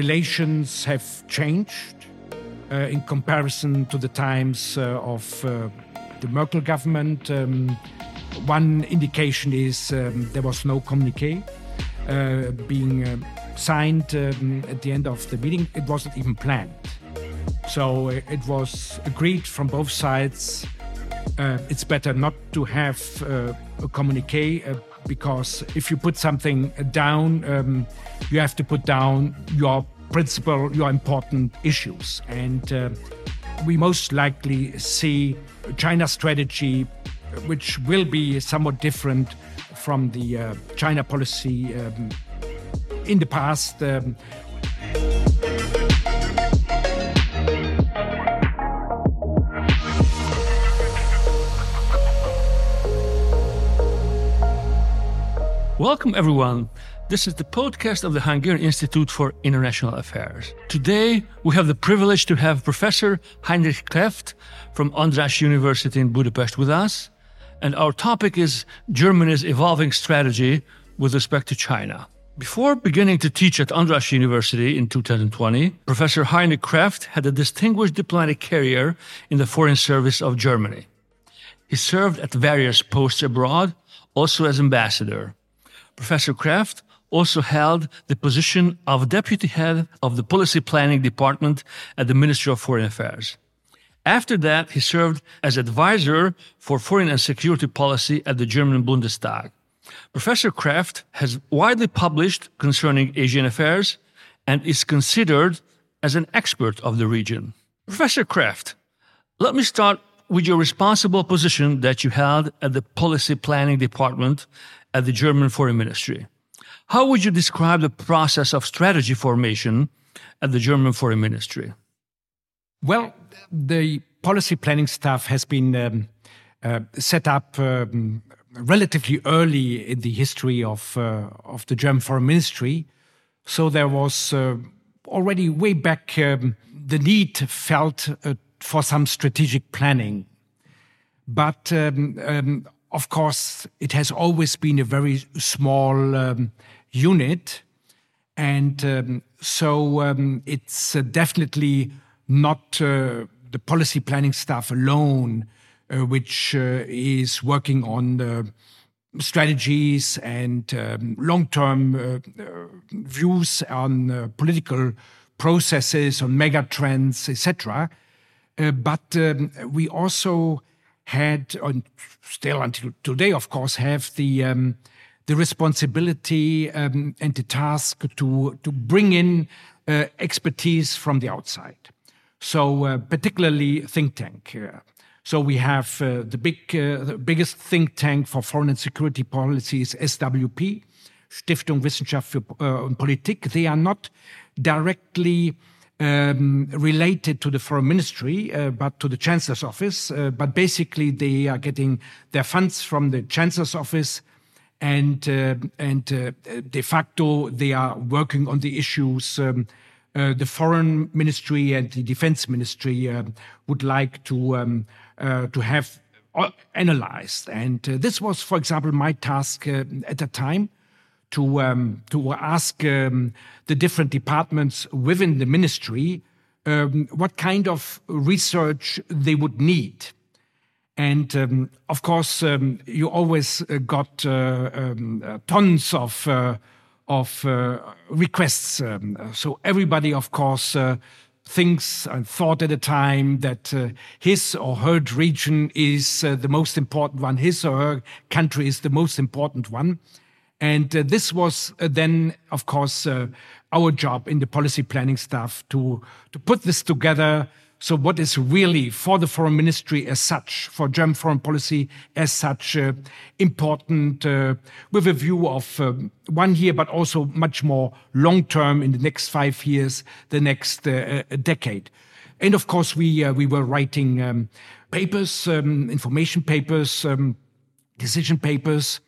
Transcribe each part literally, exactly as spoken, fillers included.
relations have changed uh, in comparison to the times uh, of uh, the Merkel government. Um, one indication is um, there was no communique uh, being uh, signed um, at the end of the meeting. It wasn't even planned. So uh, it was agreed from both sides. Uh, it's better not to have uh, a communique uh, because if you put something down, um, you have to put down your principal, your important issues. And uh, we most likely see China's strategy, which will be somewhat different from the uh, China policy um, in the past. Um, Welcome, everyone. This is the podcast of the Hungarian Institute for International Affairs. Today, we have the privilege to have Professor Heinrich Kreft from András University in Budapest with us. And our topic is Germany's evolving strategy with respect to China. Before beginning to teach at András University in two thousand twenty, Professor Heinrich Kreft had a distinguished diplomatic career in the Foreign Service of Germany. He served at various posts abroad, also as ambassador. Professor Kreft also held the position of deputy head of the policy planning department at the Ministry of Foreign Affairs. After that, he served as advisor for foreign and security policy at the German Bundestag. Professor Kreft has widely published concerning Asian affairs and is considered as an expert of the region. Professor Kreft, let me start with your responsible position that you held at the policy planning department at the German Foreign Ministry. How would you describe the process of strategy formation at the German Foreign Ministry? Well, the policy planning staff has been um, uh, set up um, relatively early in the history of uh, of the German Foreign Ministry. So there was uh, already way back um, the need felt uh, for some strategic planning. But um, um, of course, it has always been a very small um, unit. And um, so um, it's uh, definitely not uh, the policy planning staff alone, uh, which uh, is working on uh, strategies and um, long-term uh, uh, views on uh, political processes, on mega trends, et cetera. Uh, but um, we also had, and still until today, of course, have the um, the responsibility um, and the task to to bring in uh, expertise from the outside. So, uh, particularly think tank. Uh, so we have uh, the big, uh, the biggest think tank for foreign and security policy is S W P, Stiftung Wissenschaft für uh, und Politik. They are not directly Um, related to the foreign ministry, uh, but to the chancellor's office. Uh, but basically, they are getting their funds from the chancellor's office, and uh, and uh, de facto they are working on the issues um, uh, the foreign ministry and the defense ministry uh, would like to um, uh, to have analyzed. And uh, this was, for example, my task uh, at the time. To um, to ask um, the different departments within the ministry um, what kind of research they would need, and um, of course um, you always uh, got uh, um, uh, tons of uh, of uh, requests. Um, so everybody, of course, uh, thinks and thought at a time that uh, his or her region is uh, the most important one, his or her country is the most important one. And uh, this was uh, then, of course, uh, our job in the policy planning staff to, to put this together. So what is really for the foreign ministry as such, for German foreign policy as such, uh, important uh, with a view of um, one year, but also much more long-term in the next five years, the next uh, decade. And of course, we, uh, we were writing um, papers, um, information papers, um, decision papers.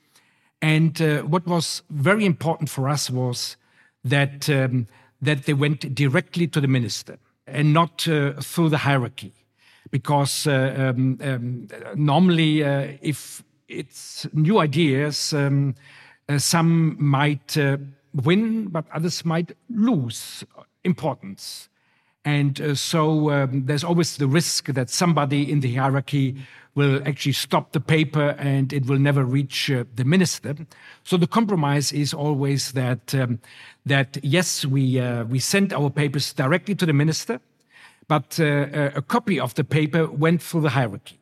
And uh, what was very important for us was that um, that they went directly to the minister and not uh, through the hierarchy, because uh, um, um, normally, uh, if it's new ideas, um, uh, some might uh, win, but others might lose. importance. And uh, so um, there's always the risk that somebody in the hierarchy will actually stop the paper and it will never reach uh, the minister. So the compromise is always that, um, that yes, we, uh, we send our papers directly to the minister, but uh, a copy of the paper went through the hierarchy.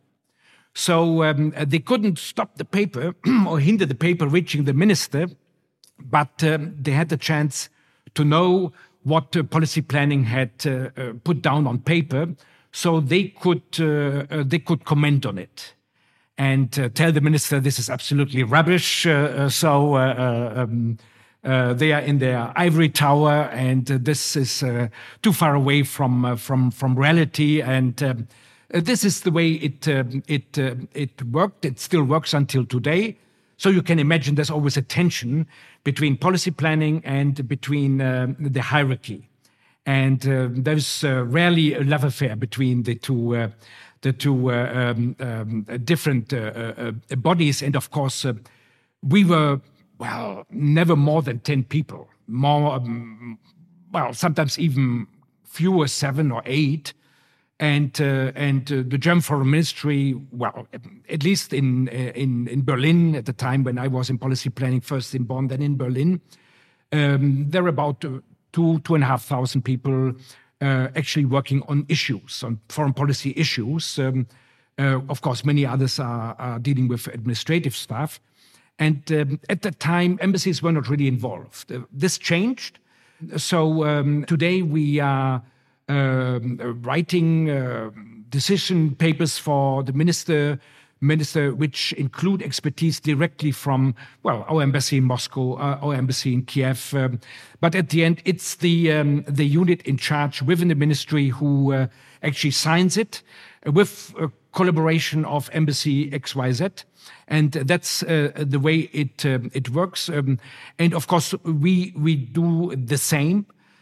So um, they couldn't stop the paper or hinder the paper reaching the minister, but um, they had the chance to know what uh, policy planning had uh, uh, put down on paper, so they could uh, uh, they could comment on it and uh, tell the minister this is absolutely rubbish. Uh, uh, so uh, uh, um, uh, they are in their ivory tower, and uh, this is uh, too far away from uh, from from reality. And um, uh, this is the way it um, it uh, it worked. It still works until today. So you can imagine there's always a tension between policy planning and between uh, the hierarchy. And uh, there's uh, rarely a love affair between the two, uh, the two uh, um, um, different uh, uh, bodies. And of course, uh, we were, well, never more than ten people. More, um, well, sometimes even fewer, seven or eight. And uh, and uh, the German Foreign Ministry, well, at least in in in Berlin at the time when I was in policy planning, first in Bonn, then in Berlin, um, there were about uh, two two and a half thousand people uh, actually working on issues, on foreign policy issues. Um, uh, of course, many others are, are dealing with administrative stuff. And um, at that time, embassies were not really involved. Uh, this changed. So um, today we are. Um, uh, writing uh, decision papers for the minister, minister, which include expertise directly from, well, our embassy in Moscow, uh, our embassy in Kiev. Um, but at the end, it's the um, the unit in charge within the ministry who uh, actually signs it with a collaboration of embassy X Y Z. And that's uh, the way it um, it works. Um, and of course, we we do the same.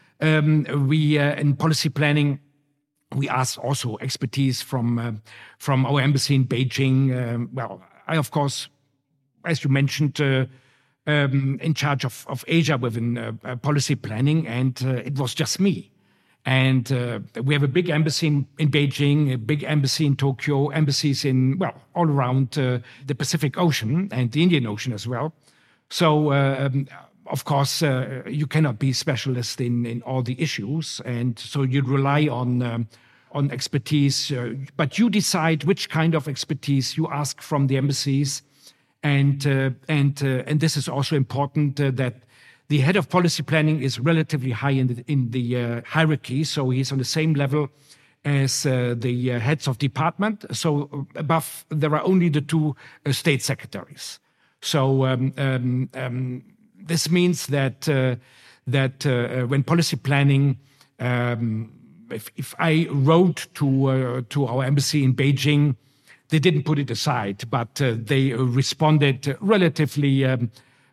Um, we uh, in policy planning, we ask also expertise from uh, from our embassy in Beijing. Um, well, I of course, as you mentioned, uh, um, in charge of, of Asia within uh, uh, policy planning, and uh, it was just me. And uh, we have a big embassy in, in Beijing, a big embassy in Tokyo, embassies in well all around uh, the Pacific Ocean and the Indian Ocean as well. So. Uh, um, Of course, uh, you cannot be specialist in, in all the issues, and so you rely on um, on expertise. Uh, but you decide which kind of expertise you ask from the embassies, and uh, and uh, and this is also important uh, that the head of policy planning is relatively high in the in the uh, hierarchy, so he's on the same level as uh, the uh, heads of department. So above, there are only the two uh, state secretaries. So. Um, um, um, This means that uh, that uh, when policy planning, um, if, if I wrote to uh, to our embassy in Beijing, they didn't put it aside, but uh, they responded relatively um,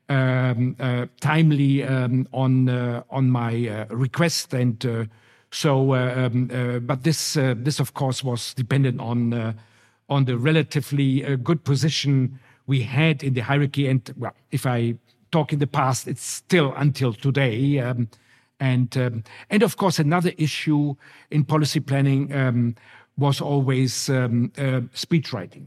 um, uh, timely um, on uh, on my uh, request, and uh, so. Uh, um, uh, but this uh, this of course was dependent on uh, on the relatively uh, good position we had in the hierarchy, and well, if I talk in the past, it's still until today. Um, and um, and of course, another issue in policy planning um, was always um, uh, speech writing.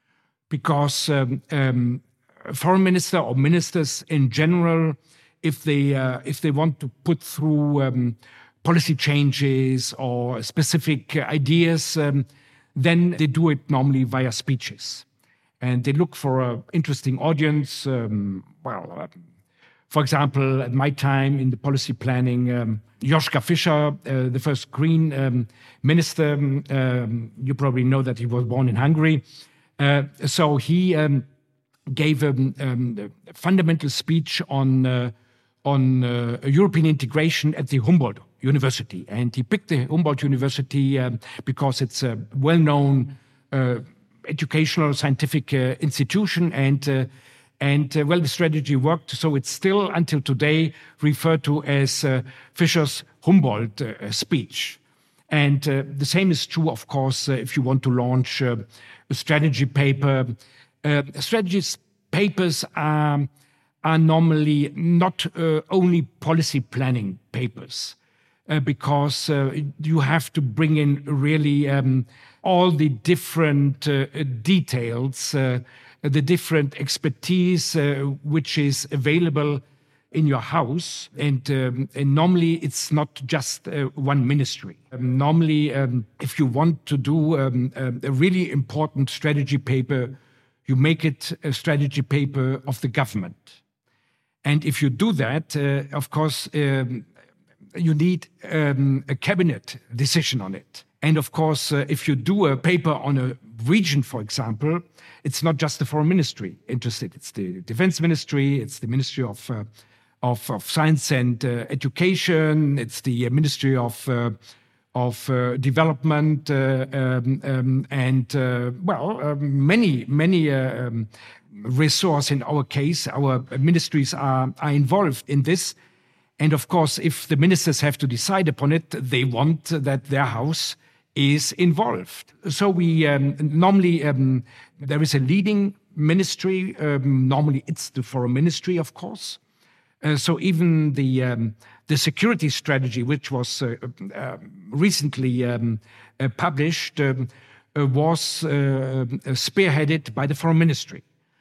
Because um, um, a foreign minister or ministers in general, if they, uh, if they want to put through um, policy changes or specific ideas, um, then they do it normally via speeches. And they look for an interesting audience. Um, well, uh, for example, at my time in the policy planning, um, Joschka Fischer, uh, the first Green um, minister, um, you probably know that he was born in Hungary. Uh, so he um, gave um, um, a fundamental speech on, uh, on uh, European integration at the Humboldt University. And he picked the Humboldt University um, because it's a well-known uh, educational scientific uh, institution, and uh, and uh, well, the strategy worked. So it's still until today referred to as uh, Fischer's Humboldt uh, speech. And uh, the same is true, of course, uh, if you want to launch uh, a strategy paper. Uh, strategy papers are are normally not uh, only policy planning papers. uh, because uh, you have to bring in really um, all the different uh, details, uh, the different expertise uh, which is available in your house. And, um, and normally it's not just uh, one ministry. Um, normally, um, if you want to do um, a really important strategy paper, you make it a strategy paper of the government. And if you do that, uh, of course, um, you need um, a cabinet decision on it. And of course, uh, if you do a paper on a region, for example, it's not just the foreign ministry interested. It's the defense ministry, it's the ministry of uh, of, of science and uh, education, it's the ministry of uh, of uh, development, uh, um, um, and uh, well, uh, many many uh, um, resources. In our case, our ministries are are involved in this. And of course, if the ministers have to decide upon it, they want that their house is involved. So we um, normally, um, there is a leading ministry. Um, normally it's the foreign ministry, of course. Uh, so even the um, the security strategy, which was uh, uh, recently um, uh, published, um, uh, was uh, spearheaded by the foreign ministry.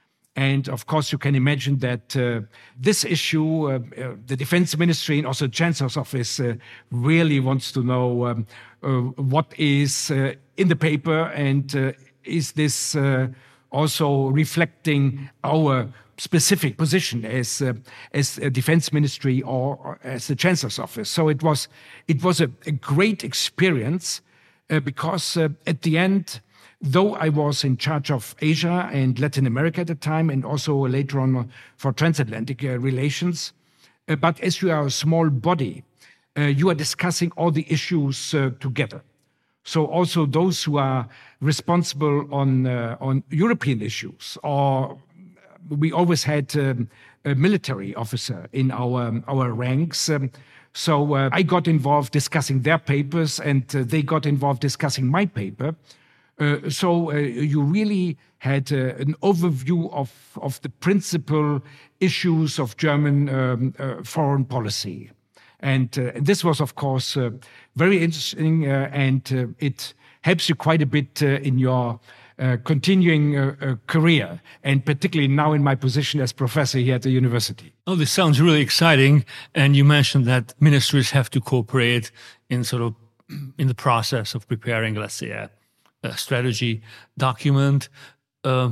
And of course, you can imagine that uh, this issue, uh, uh, the defense ministry and also the chancellor's office uh, really wants to know um, uh, what is uh, in the paper, and uh, is this uh, also reflecting our specific position as uh, as a defense ministry or, or as the chancellor's office. So it was it was a, a great experience uh, because uh, at the end, though I was in charge of Asia and Latin America at the time, and also later on for transatlantic uh, relations, uh, but as you are a small body, uh, you are discussing all the issues uh, together. So also those who are responsible on uh, on European issues, or we always had um, a military officer in our our ranks. Um, so uh, I got involved discussing their papers, and uh, they got involved discussing my paper. Uh, so uh, you really had uh, an overview of, of the principal issues of German um, uh, foreign policy. And uh, this was, of course, uh, very interesting, uh, and uh, it helps you quite a bit uh, in your uh, continuing uh, uh, career, and particularly now in my position as professor here at the university. Oh, this sounds really exciting. And you mentioned that ministries have to cooperate in sort of in the process of preparing, let's say, a A strategy document. Uh,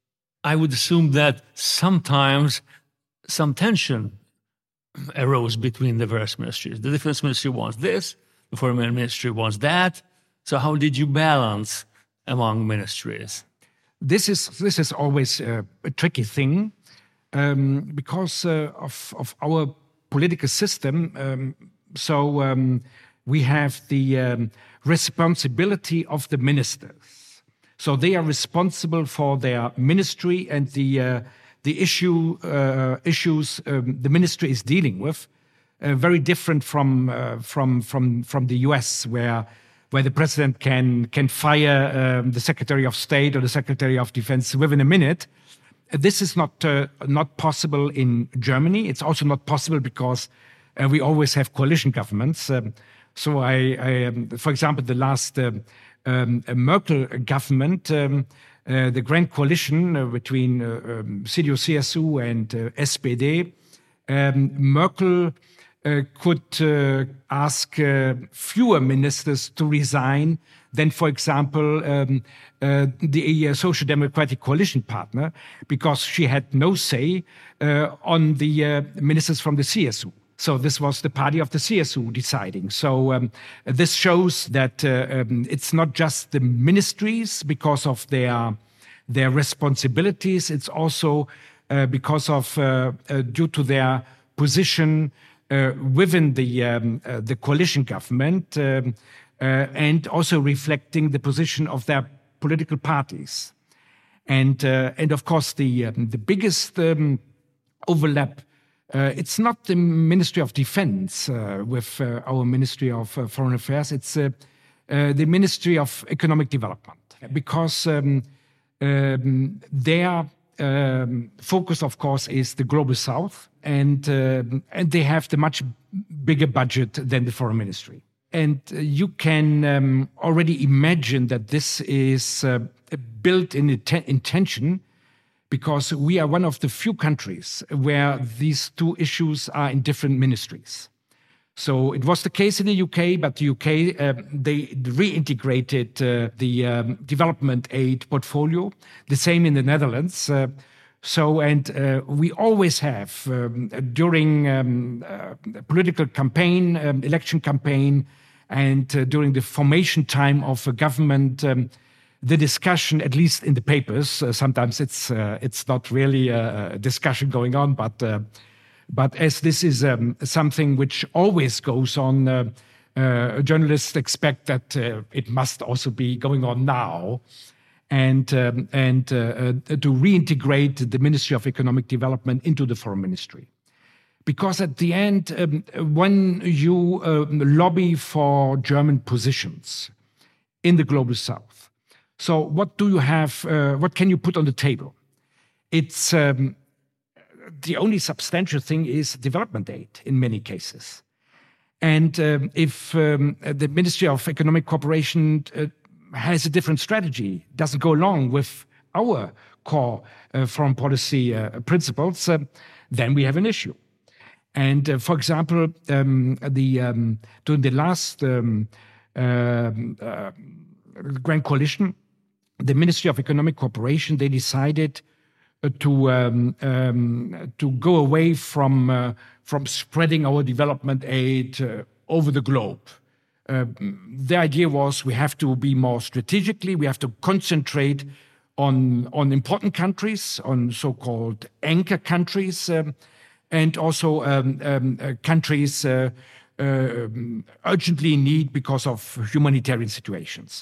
I would assume that sometimes some tension arose between the various ministries. The defense ministry wants this, the foreign ministry wants that. So how did you balance among ministries? This is this is always uh, a tricky thing um, because uh, of of our political system. Um, so um, we have the um, responsibility of the ministers. So they are responsible for their ministry and the uh, the issue uh, issues um, the ministry is dealing with. Uh, very different from uh, from from from the U S, where where the president can can fire um, the Secretary of State or the Secretary of Defense within a minute. Uh, this is not uh, not possible in Germany. It's also not possible because uh, we always have coalition governments. Um, So I, I um, for example, the last um, um, Merkel government, um, uh, the grand coalition uh, between uh, um, C D U C S U and uh, S P D, um, Merkel uh, could uh, ask uh, fewer ministers to resign than, for example, um, uh, the uh, Social Democratic coalition partner, because she had no say uh, on the uh, ministers from the C S U. So this was the party of the C S U deciding. So um, this shows that uh, um, it's not just the ministries because of their their responsibilities. It's also uh, because of uh, uh, due to their position uh, within the um, uh, the coalition government, um, uh, and also reflecting the position of their political parties. And uh, and of course the um, the biggest um, overlap. Uh, it's not the Ministry of Defense uh, with uh, our Ministry of uh, Foreign Affairs. It's uh, uh, the Ministry of Economic Development, because um, um, their um, focus, of course, is the Global South, and uh, and they have the much bigger budget than the foreign ministry. And uh, you can um, already imagine that this is uh, built in int- intention, because we are one of the few countries where these two issues are in different ministries. So it was the case in the U K, but the U K, uh, they reintegrated uh, the um, development aid portfolio. The same in the Netherlands. Uh, so, and uh, we always have, um, during um, uh, political campaign, um, election campaign, and uh, during the formation time of a government, um, the discussion, at least in the papers, uh, sometimes it's uh, it's not really a discussion going on, but uh, but as this is um, something which always goes on, uh, uh, journalists expect that uh, it must also be going on now, and um, and uh, uh, to reintegrate the Ministry of Economic Development into the Foreign Ministry. Because at the end, um, when you uh, lobby for German positions in the Global South, so what do you have, uh, what can you put on the table? It's um, the only substantial thing is development aid in many cases. And um, if um, the Ministry of Economic Cooperation uh, has a different strategy, doesn't go along with our core uh, foreign policy uh, principles, uh, then we have an issue. And uh, for example, um, the um, during the last um, uh, uh, Grand Coalition, the Ministry of Economic Cooperation, they decided uh, to um, um, to go away from uh, from spreading our development aid uh, over the globe. Uh, the idea was we have to be more strategically, we have to concentrate on on important countries, on so-called anchor countries. Um, and also um, um, uh, countries uh, uh, urgently in need because of humanitarian situations.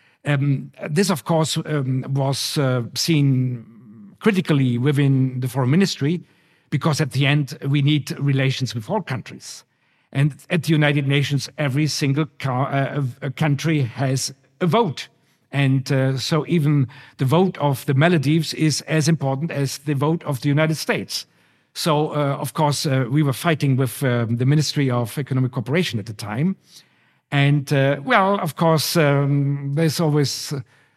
Um, this, of course, um, was uh, seen critically within the foreign ministry, because at the end, we need relations with all countries. And at the United Nations, every single uh, country has a vote. And uh, so even the vote of the Maldives is as important as the vote of the United States. So, uh, of course, uh, we were fighting with uh, the Ministry of Economic Cooperation at the time. And, uh, well, of course, um, there's always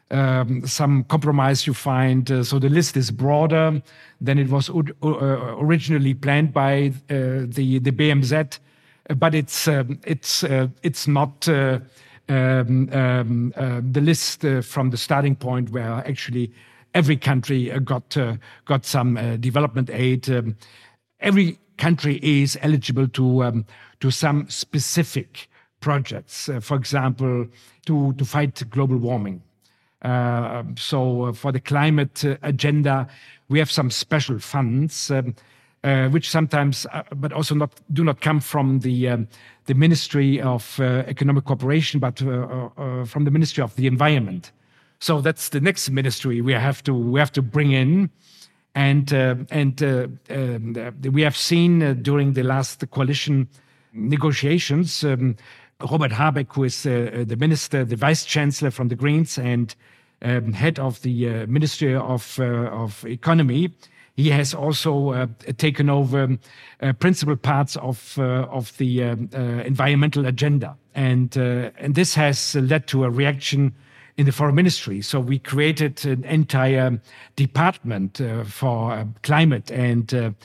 um, some compromise you find. Uh, so the list is broader than it was uh, originally planned by uh, the, the B M Z. But it's, um, it's, uh, it's not uh, um, um, uh, the list uh, from the starting point where actually every country uh, got uh, got some uh, development aid. Um, every country is eligible to um, to some specific projects. Uh, for example, to to fight global warming. Uh, so uh, for the climate uh, agenda, we have some special funds, um, uh, which sometimes, uh, but also not do not come from the um, the Ministry of uh, Economic Cooperation, but uh, uh, from the Ministry of the Environment. So that's the next ministry we have to we have to bring in, and uh, and uh, um, we have seen uh, during the last coalition negotiations, um, Robert Habeck, who is uh, the minister, the vice chancellor from the Greens, and um, head of the uh, Ministry of uh, of Economy, he has also uh, taken over uh, principal parts of uh, of the um, uh, environmental agenda, and uh, and this has led to a reaction in the foreign ministry. So we created an entire department uh, for uh, climate, and uh,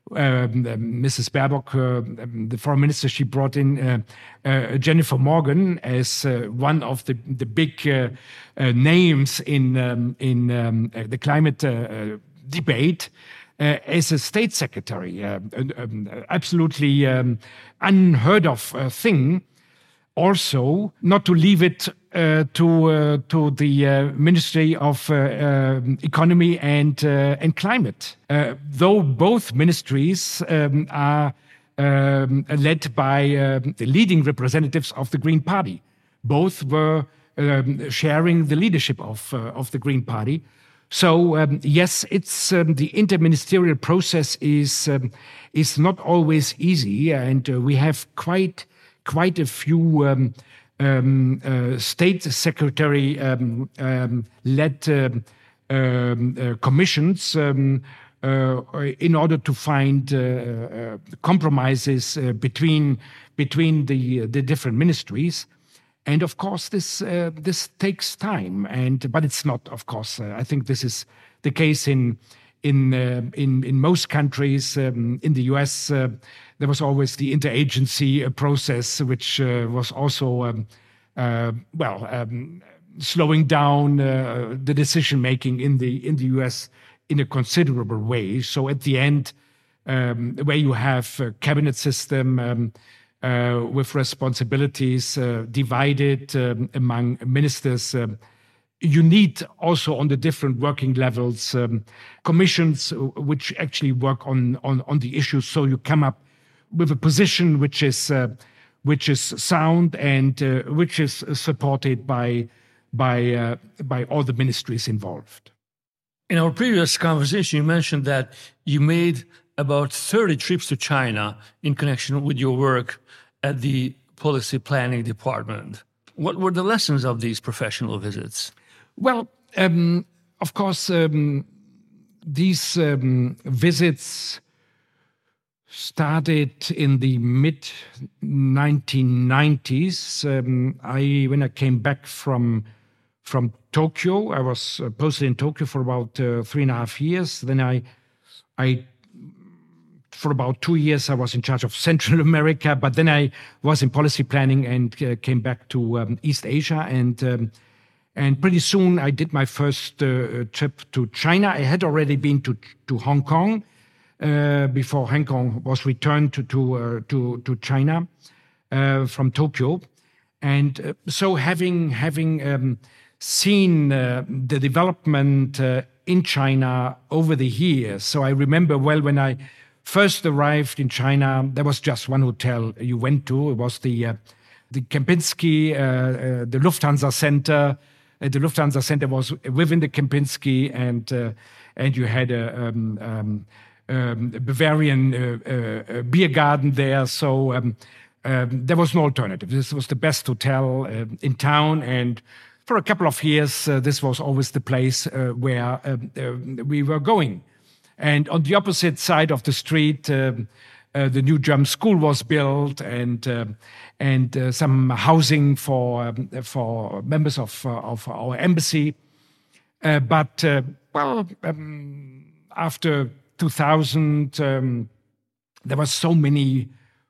um, uh, Missus Baerbock, uh, um, the foreign minister, she brought in uh, uh, Jennifer Morgan as uh, one of the the big uh, uh, names in um, in um, uh, the climate uh, debate. Uh, as a state secretary, uh, um, absolutely um, unheard of uh, thing. Also, not to leave it uh, to uh, to the uh, Ministry of uh, uh, Economy and uh, and Climate, uh, though both ministries um, are um, led by uh, the leading representatives of the Green Party. Both were um, sharing the leadership of uh, of the Green Party. So um, yes, it's um, the interministerial process is um, is not always easy, and uh, we have quite. quite a few um, um, uh, state secretary um, um, led uh, um, uh, commissions um, uh, in order to find uh, uh, compromises uh, between between the the different ministries. And of course, this uh, this takes time. And but it's not, of course. Uh, I think this is the case in in uh, in in most countries. Um, in the U S, uh, there was always the interagency uh, process, which uh, was also um, uh, well um, slowing down uh, the decision making in the in the U S in a considerable way. So at the end, um, where you have a cabinet system. Um, Uh, with responsibilities uh, divided um, among ministers. Um, you need also on the different working levels um, commissions which actually work on, on, on the issues. So you come up with a position which is uh, which is sound and uh, which is supported by by uh, by all the ministries involved. In our previous conversation, you mentioned that you made about thirty trips to China in connection with your work at the Policy Planning Department. What were the lessons of these professional visits? Well, um, of course, um, these um, visits started in the mid nineteen nineties. Um, I, when I came back from from Tokyo, I was posted in Tokyo for about uh, three and a half years. Then I, I, for about two years, I was in charge of Central America. But then I was in policy planning and uh, came back to um, East Asia. And um, and pretty soon I did my first uh, trip to China. I had already been to to Hong Kong uh, before Hong Kong was returned to to uh, to, to China uh, from Tokyo. And uh, so having having um, seen uh, the development uh, in China over the years, so I remember well when I first arrived in China, there was just one hotel you went to. It was the uh, the Kempinski, uh, uh, the Lufthansa Center. Uh, the Lufthansa Center was within the Kempinski, and uh, and you had a, um, um, um, a Bavarian uh, uh, beer garden there. So um, um, there was no alternative. This was the best hotel uh, in town, and for a couple of years, uh, this was always the place uh, where uh, uh, we were going. And on the opposite side of the street, um, uh, the new German school was built, and uh, and uh, some housing for um, for members of uh, of our embassy. Uh, but uh, well, um, after two thousand, um, there were so many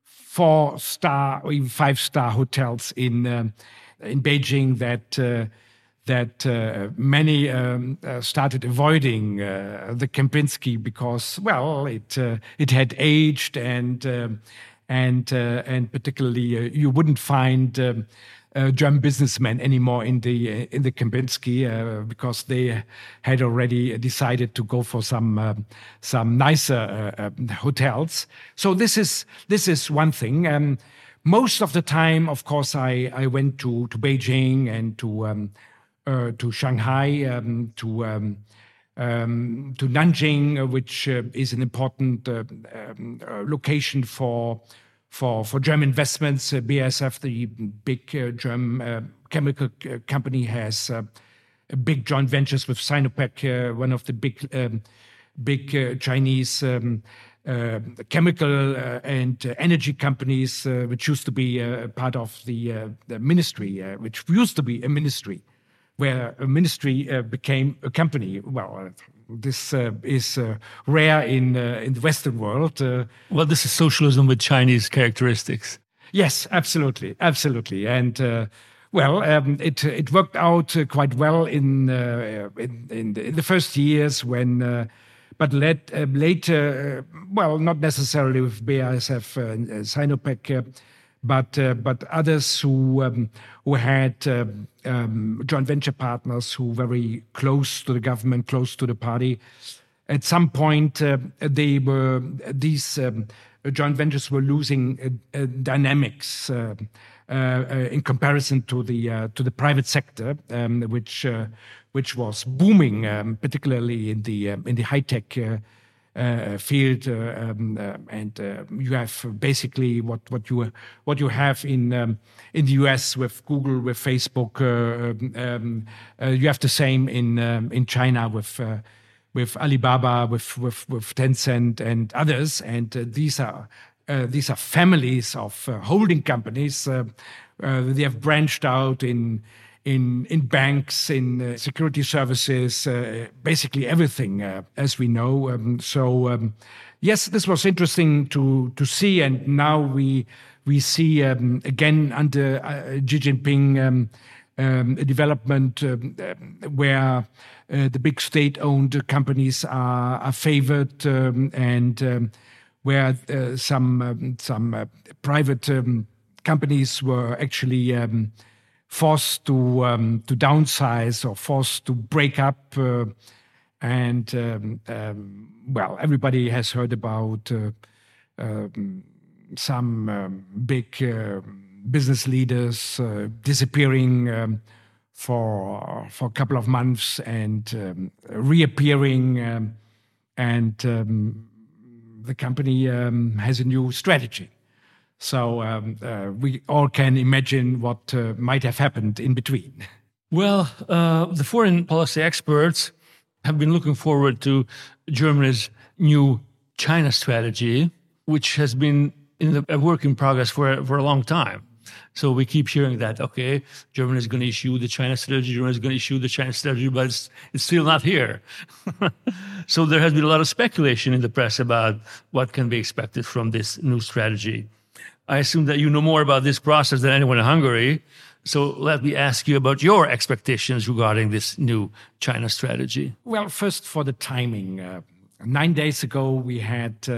four-star or even five-star hotels in uh, in Beijing that. Uh, that uh, many um, uh, started avoiding uh, the Kempinski because, well, it uh, it had aged, and um, and uh, and particularly uh, you wouldn't find um, uh, German businessmen anymore in the uh, in the Kempinski uh, because they had already decided to go for some uh, some nicer uh, uh, hotels. So this is this is one thing. Um, most of the time, of course, I I went to to Beijing and to um, Uh, to Shanghai, um, to um, um, to Nanjing, uh, which uh, is an important uh, um, uh, location for for for German investments. Uh, B A S F, the big uh, German uh, chemical uh, company, has uh, big joint ventures with Sinopec, uh, one of the big um, big uh, Chinese um, uh, chemical uh, and uh, energy companies, uh, which used to be uh, part of the, uh, the ministry, uh, which used to be a ministry, where a ministry uh, became a company. Well, uh, this uh, is uh, rare in uh, in the Western world. Uh, well, this is socialism with Chinese characteristics. Yes, absolutely, absolutely, and uh, well, um, it it worked out uh, quite well in uh, in, in, the, in the first years when. Uh, But let, uh, later, uh, well, not necessarily with B A S F uh, and uh, Sinopec, uh, but uh, but others who um, who had uh, um, joint venture partners who were very close to the government, close to the party. At some point, uh, they were these um, joint ventures were losing uh, uh, dynamics uh, uh, uh, in comparison to the uh, to the private sector, um, which. Uh, which was booming, um, particularly in the um, in the high tech uh, uh, field, uh, um, uh, and uh, you have basically what what you what you have in um, in the U S with Google, with Facebook. Uh, um, uh, you have the same in um, in China with uh, with Alibaba, with with, with Tencent and others. And uh, these are uh, these are families of uh, holding companies. Uh, uh, they have branched out in in in banks, in uh, security services, uh, basically everything, uh, as we know. Um, so um, yes, this was interesting to to see, and now we we see um, again under uh, Xi Jinping um, um, a development um, where uh, the big state-owned companies are, are favored, um, and um, where uh, some um, some uh, private um, companies were actually Um, forced to um, to downsize or forced to break up, uh, and um, um, well, everybody has heard about uh, um, some um, big uh, business leaders uh, disappearing um, for for a couple of months and um, reappearing, um, and um, the company um, has a new strategy. So um, uh, we all can imagine what uh, might have happened in between. Well, uh, the foreign policy experts have been looking forward to Germany's new China strategy, which has been in the, a work in progress for, for a long time. So we keep hearing that, okay, Germany is going to issue the China strategy, Germany is going to issue the China strategy, but it's, it's still not here. So there has been a lot of speculation in the press about what can be expected from this new strategy. I assume that you know more about this process than anyone in Hungary. So let me ask you about your expectations regarding this new China strategy. Well, first for the timing. Uh, nine days ago, we had uh,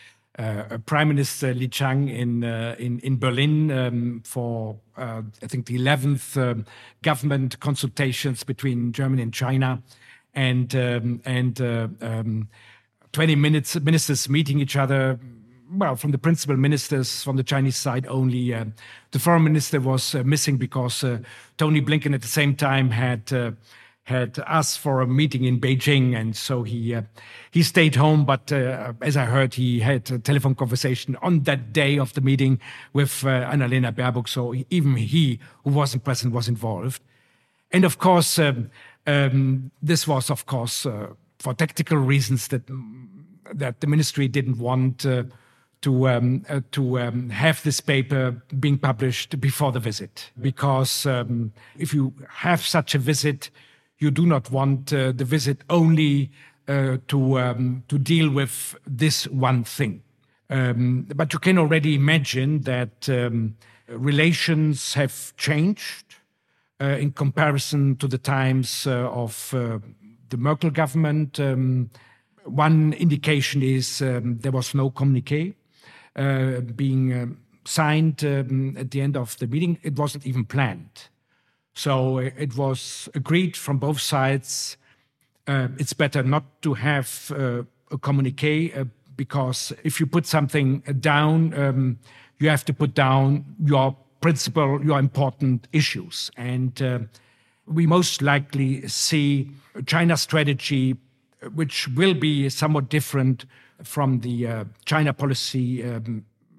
uh, Prime Minister Li Qiang in uh, in, in Berlin um, for, uh, I think, the eleventh um, government consultations between Germany and China. And, um, and uh, um, twenty minutes, ministers meeting each other. Well, from the principal ministers from the Chinese side only. Uh, the foreign minister was uh, missing because uh, Tony Blinken at the same time had uh, had asked for a meeting in Beijing, and so he uh, he stayed home. But uh, as I heard, he had a telephone conversation on that day of the meeting with uh, Annalena Baerbock. So even he, who wasn't present, was involved. And of course, um, um, this was, of course, uh, for tactical reasons that that the ministry didn't want Uh, to um, uh, to um, have this paper being published before the visit, because um, if you have such a visit, you do not want uh, the visit only uh, to um, to deal with this one thing. Um, but you can already imagine that um, relations have changed uh, in comparison to the times uh, of uh, the Merkel government. Um, one indication is um, there was no communiqué Uh, being uh, signed um, at the end of the meeting. It wasn't even planned. So uh, it was agreed from both sides. Uh, it's better not to have uh, a communiqué uh, because if you put something down, um, you have to put down your principal, your important issues. And uh, we most likely see a China strategy which will be somewhat different from the uh, China policy um,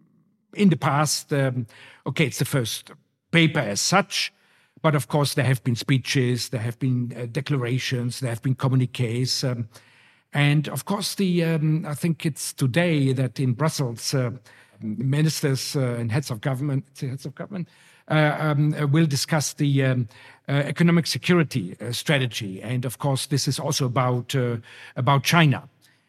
in the past. Um, okay, it's the first paper as such, but of course there have been speeches, there have been uh, declarations, there have been communiques. Um, and of course, the um, I think it's today that in Brussels, uh, ministers uh, and heads of government, heads of government uh, um, uh, will discuss the um, uh, economic security uh, strategy. And of course, this is also about uh, about China.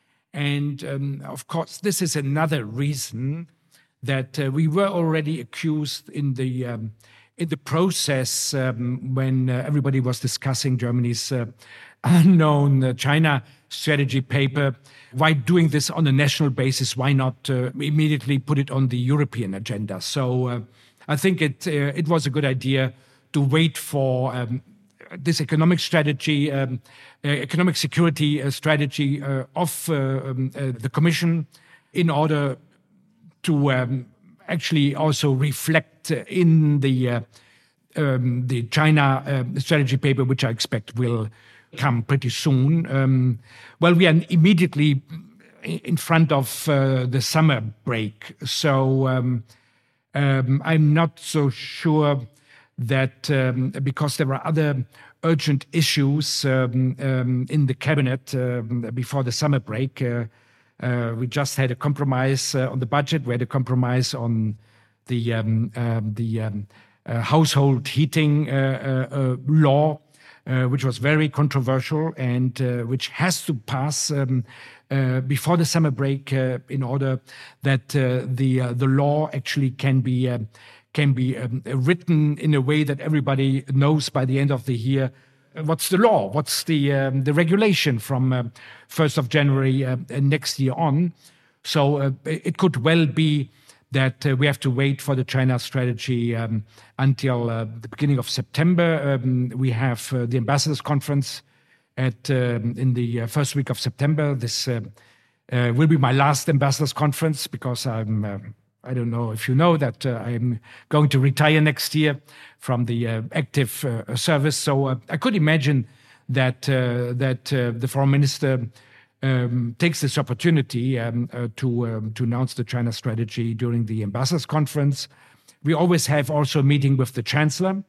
And um, of course, this is another reason that uh, we were already accused in the um, in the process um, when uh, everybody was discussing Germany's uh, unknown uh, China strategy paper. Why doing this on a national basis? Why not uh, immediately put it on the European agenda? So uh, I think it uh, it was a good idea to wait for Um, this economic strategy, um, uh, economic security uh, strategy uh, of uh, um, uh, the Commission in order to um, actually also reflect in the uh, um, the China uh, strategy paper, which I expect will come pretty soon. Um, well, we are immediately in front of uh, the summer break, so um, um, I'm not so sure that um, because there are other urgent issues um, um, in the cabinet um, before the summer break. Uh, uh, we just had a compromise uh, on the budget. We had a compromise on the um, um, the um, uh, household heating uh, uh, uh, law, uh, which was very controversial and uh, which has to pass um, uh, before the summer break uh, in order that uh, the uh, the law actually can be. Uh, can be um, written in a way that everybody knows by the end of the year uh, what's the law, what's the um, the regulation from uh, first of January uh, next year on. So uh, it could well be that uh, we have to wait for the China strategy um, until uh, the beginning of September. Um, we have uh, the ambassadors conference at um, in the uh, first week of September. This uh, uh, will be my last ambassadors conference because I'm uh, I don't know if you know that uh, I'm going to retire next year from the uh, active uh, service. So uh, I could imagine that uh, that uh, the foreign minister um, takes this opportunity um, uh, to um, to announce the China strategy during the ambassadors conference. We always have also a meeting with the chancellor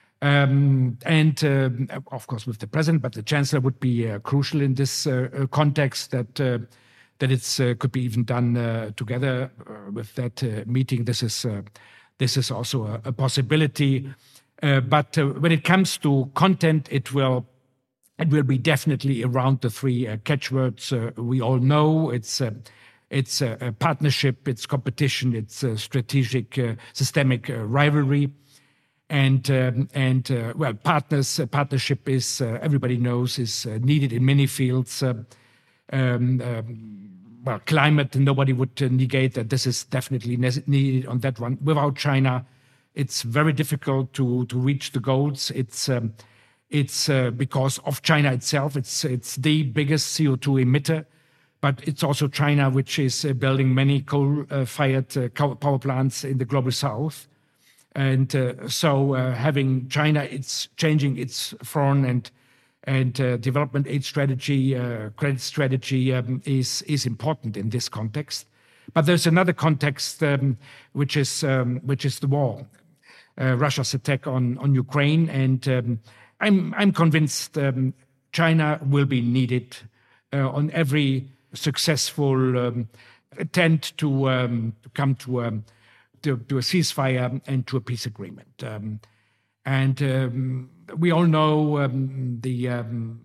um, and uh, of course with the president, but the chancellor would be uh, crucial in this uh, context. That. Uh, that it uh, could be even done uh, together uh, with that uh, meeting. This is uh, this is also a, a possibility. Uh, but uh, when it comes to content, it will it will be definitely around the three uh, catchwords uh, we all know. It's uh, it's uh, a partnership, it's competition, it's a strategic, uh, systemic uh, rivalry. And um, and uh, well, partners uh, partnership is uh, everybody knows is uh, needed in many fields. Uh, Um, um, well, climate, nobody would uh, negate that this is definitely needed on that one. Without China, it's very difficult to to reach the goals. It's um, it's uh, because of China itself. It's it's the biggest C O two emitter, but it's also China which is uh, building many coal-fired uh, power plants in the global south. And uh, so uh, having China, it's changing its foreign and And uh, development aid strategy, uh, credit strategy um, is is important in this context. But there's another context um, which is um, which is the war, uh, Russia's attack on on Ukraine, and um, I'm I'm convinced um, China will be needed uh, on every successful um, attempt to um, to come to, um, to to a ceasefire and to a peace agreement. Um, And um, we all know um, the um,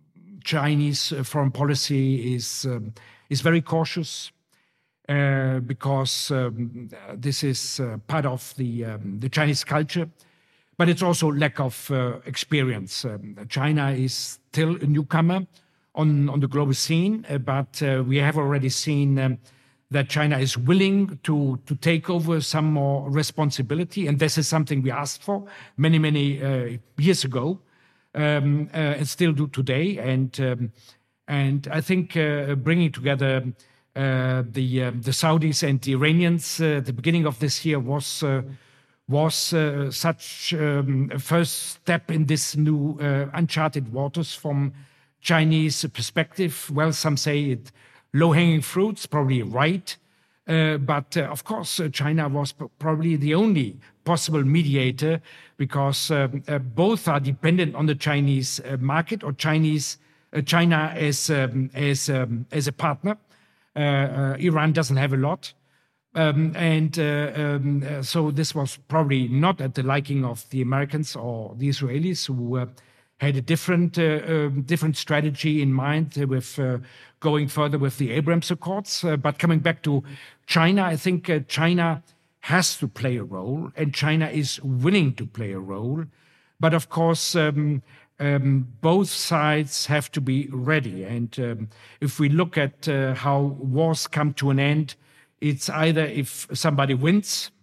Chinese foreign policy is um, is very cautious uh, because um, this is uh, part of the um, the Chinese culture, but it's also lack of uh, experience. Um, China is still a newcomer on on the global scene, uh, but uh, we have already seen. Um, that China is willing to, to take over some more responsibility. And this is something we asked for many, many uh, years ago, um, uh, and still do today. And um, and I think uh, bringing together uh, the uh, the Saudis and the Iranians uh, at the beginning of this year was uh, was uh, such um, a first step in this new uh, uncharted waters from Chinese perspective. Well, some say it low-hanging fruits, probably right. Uh, but uh, of course, uh, China was p- probably the only possible mediator because um, uh, both are dependent on the Chinese uh, market or Chinese uh, China as um, as um, as a partner. Uh, uh, Iran doesn't have a lot. Um, and uh, um, uh, so this was probably not at the liking of the Americans or the Israelis, who uh, had a different uh, uh, different strategy in mind uh, with uh, going further with the Abraham Accords. Uh, but coming back to China, I think uh, China has to play a role, and China is willing to play a role. But of course, um, um, both sides have to be ready. And um, if we look at uh, how wars come to an end, it's either if somebody wins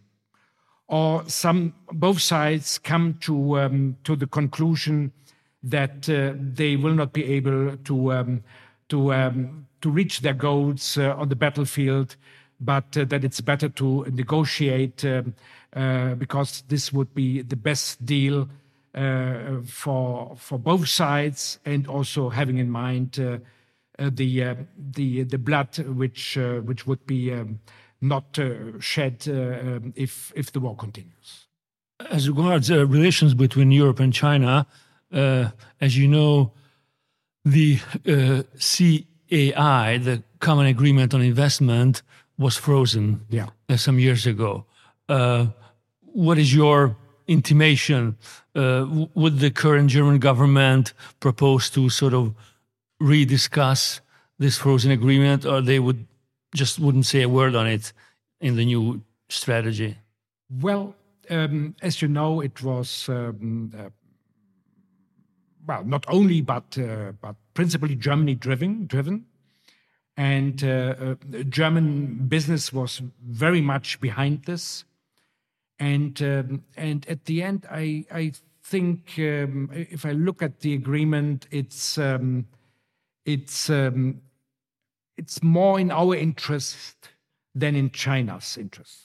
or some both sides come to um, to the conclusion that uh, they will not be able to um, to um, to reach their goals uh, on the battlefield, but uh, that it's better to negotiate um, uh, because this would be the best deal uh, for for both sides, and also having in mind uh, uh, the uh, the the blood which uh, which would be um, not uh, shed uh, um, if if the war continues. As regards uh, relations between Europe and China, Uh, as you know, the uh, C A I, the Common Agreement on Investment, was frozen yeah. uh, some years ago. Uh, what is your intimation? Uh, would the current German government propose to sort of rediscuss this frozen agreement, or they would just wouldn't say a word on it in the new strategy? Well, um, as you know, it was um, uh, well not only but uh, but principally Germany driven driven, and uh, uh, German business was very much behind this, and um, and at the end, I I think um, if I look at the agreement, it's um, it's um, it's more in our interest than in China's interest.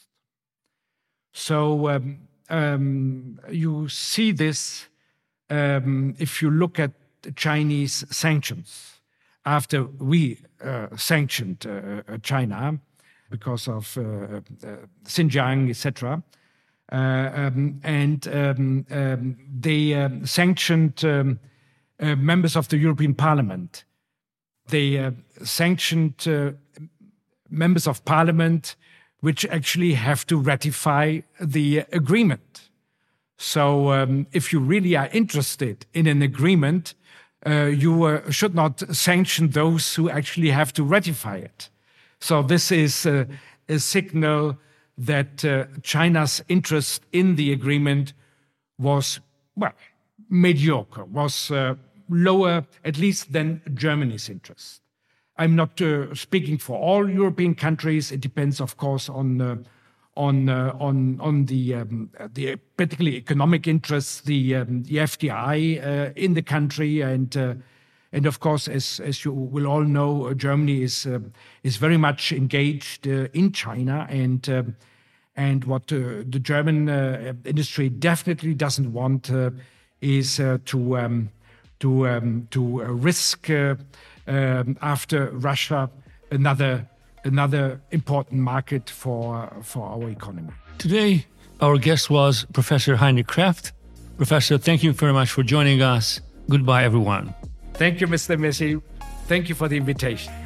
So um, um, you see this um, if you look at the Chinese sanctions. After we uh, sanctioned uh, China because of uh, uh, Xinjiang, et cetera, uh, um, and um, um, they um, sanctioned um, uh, members of the European Parliament. They uh, sanctioned uh, members of Parliament which actually have to ratify the agreement. So um, if you really are interested in an agreement, uh, you uh, should not sanction those who actually have to ratify it. So this is uh, a signal that uh, China's interest in the agreement was, well, mediocre, was uh, lower, at least than Germany's interest. I'm not uh, speaking for all European countries. It depends, of course, on uh, on uh, on on the um, the particularly economic interests, the um, the F D I uh, in the country, and uh, and of course, as as you will all know, uh, Germany is uh, is very much engaged uh, in China, and uh, and what uh, the German uh, industry definitely doesn't want uh, is uh, to um, to um, to uh, risk. Uh, Um, after Russia, another another important market for for our economy. Today, our guest was Professor Heinrich Kraft. Professor, thank you very much for joining us. Goodbye, everyone. Thank you, Mister Messi. Thank you for the invitation.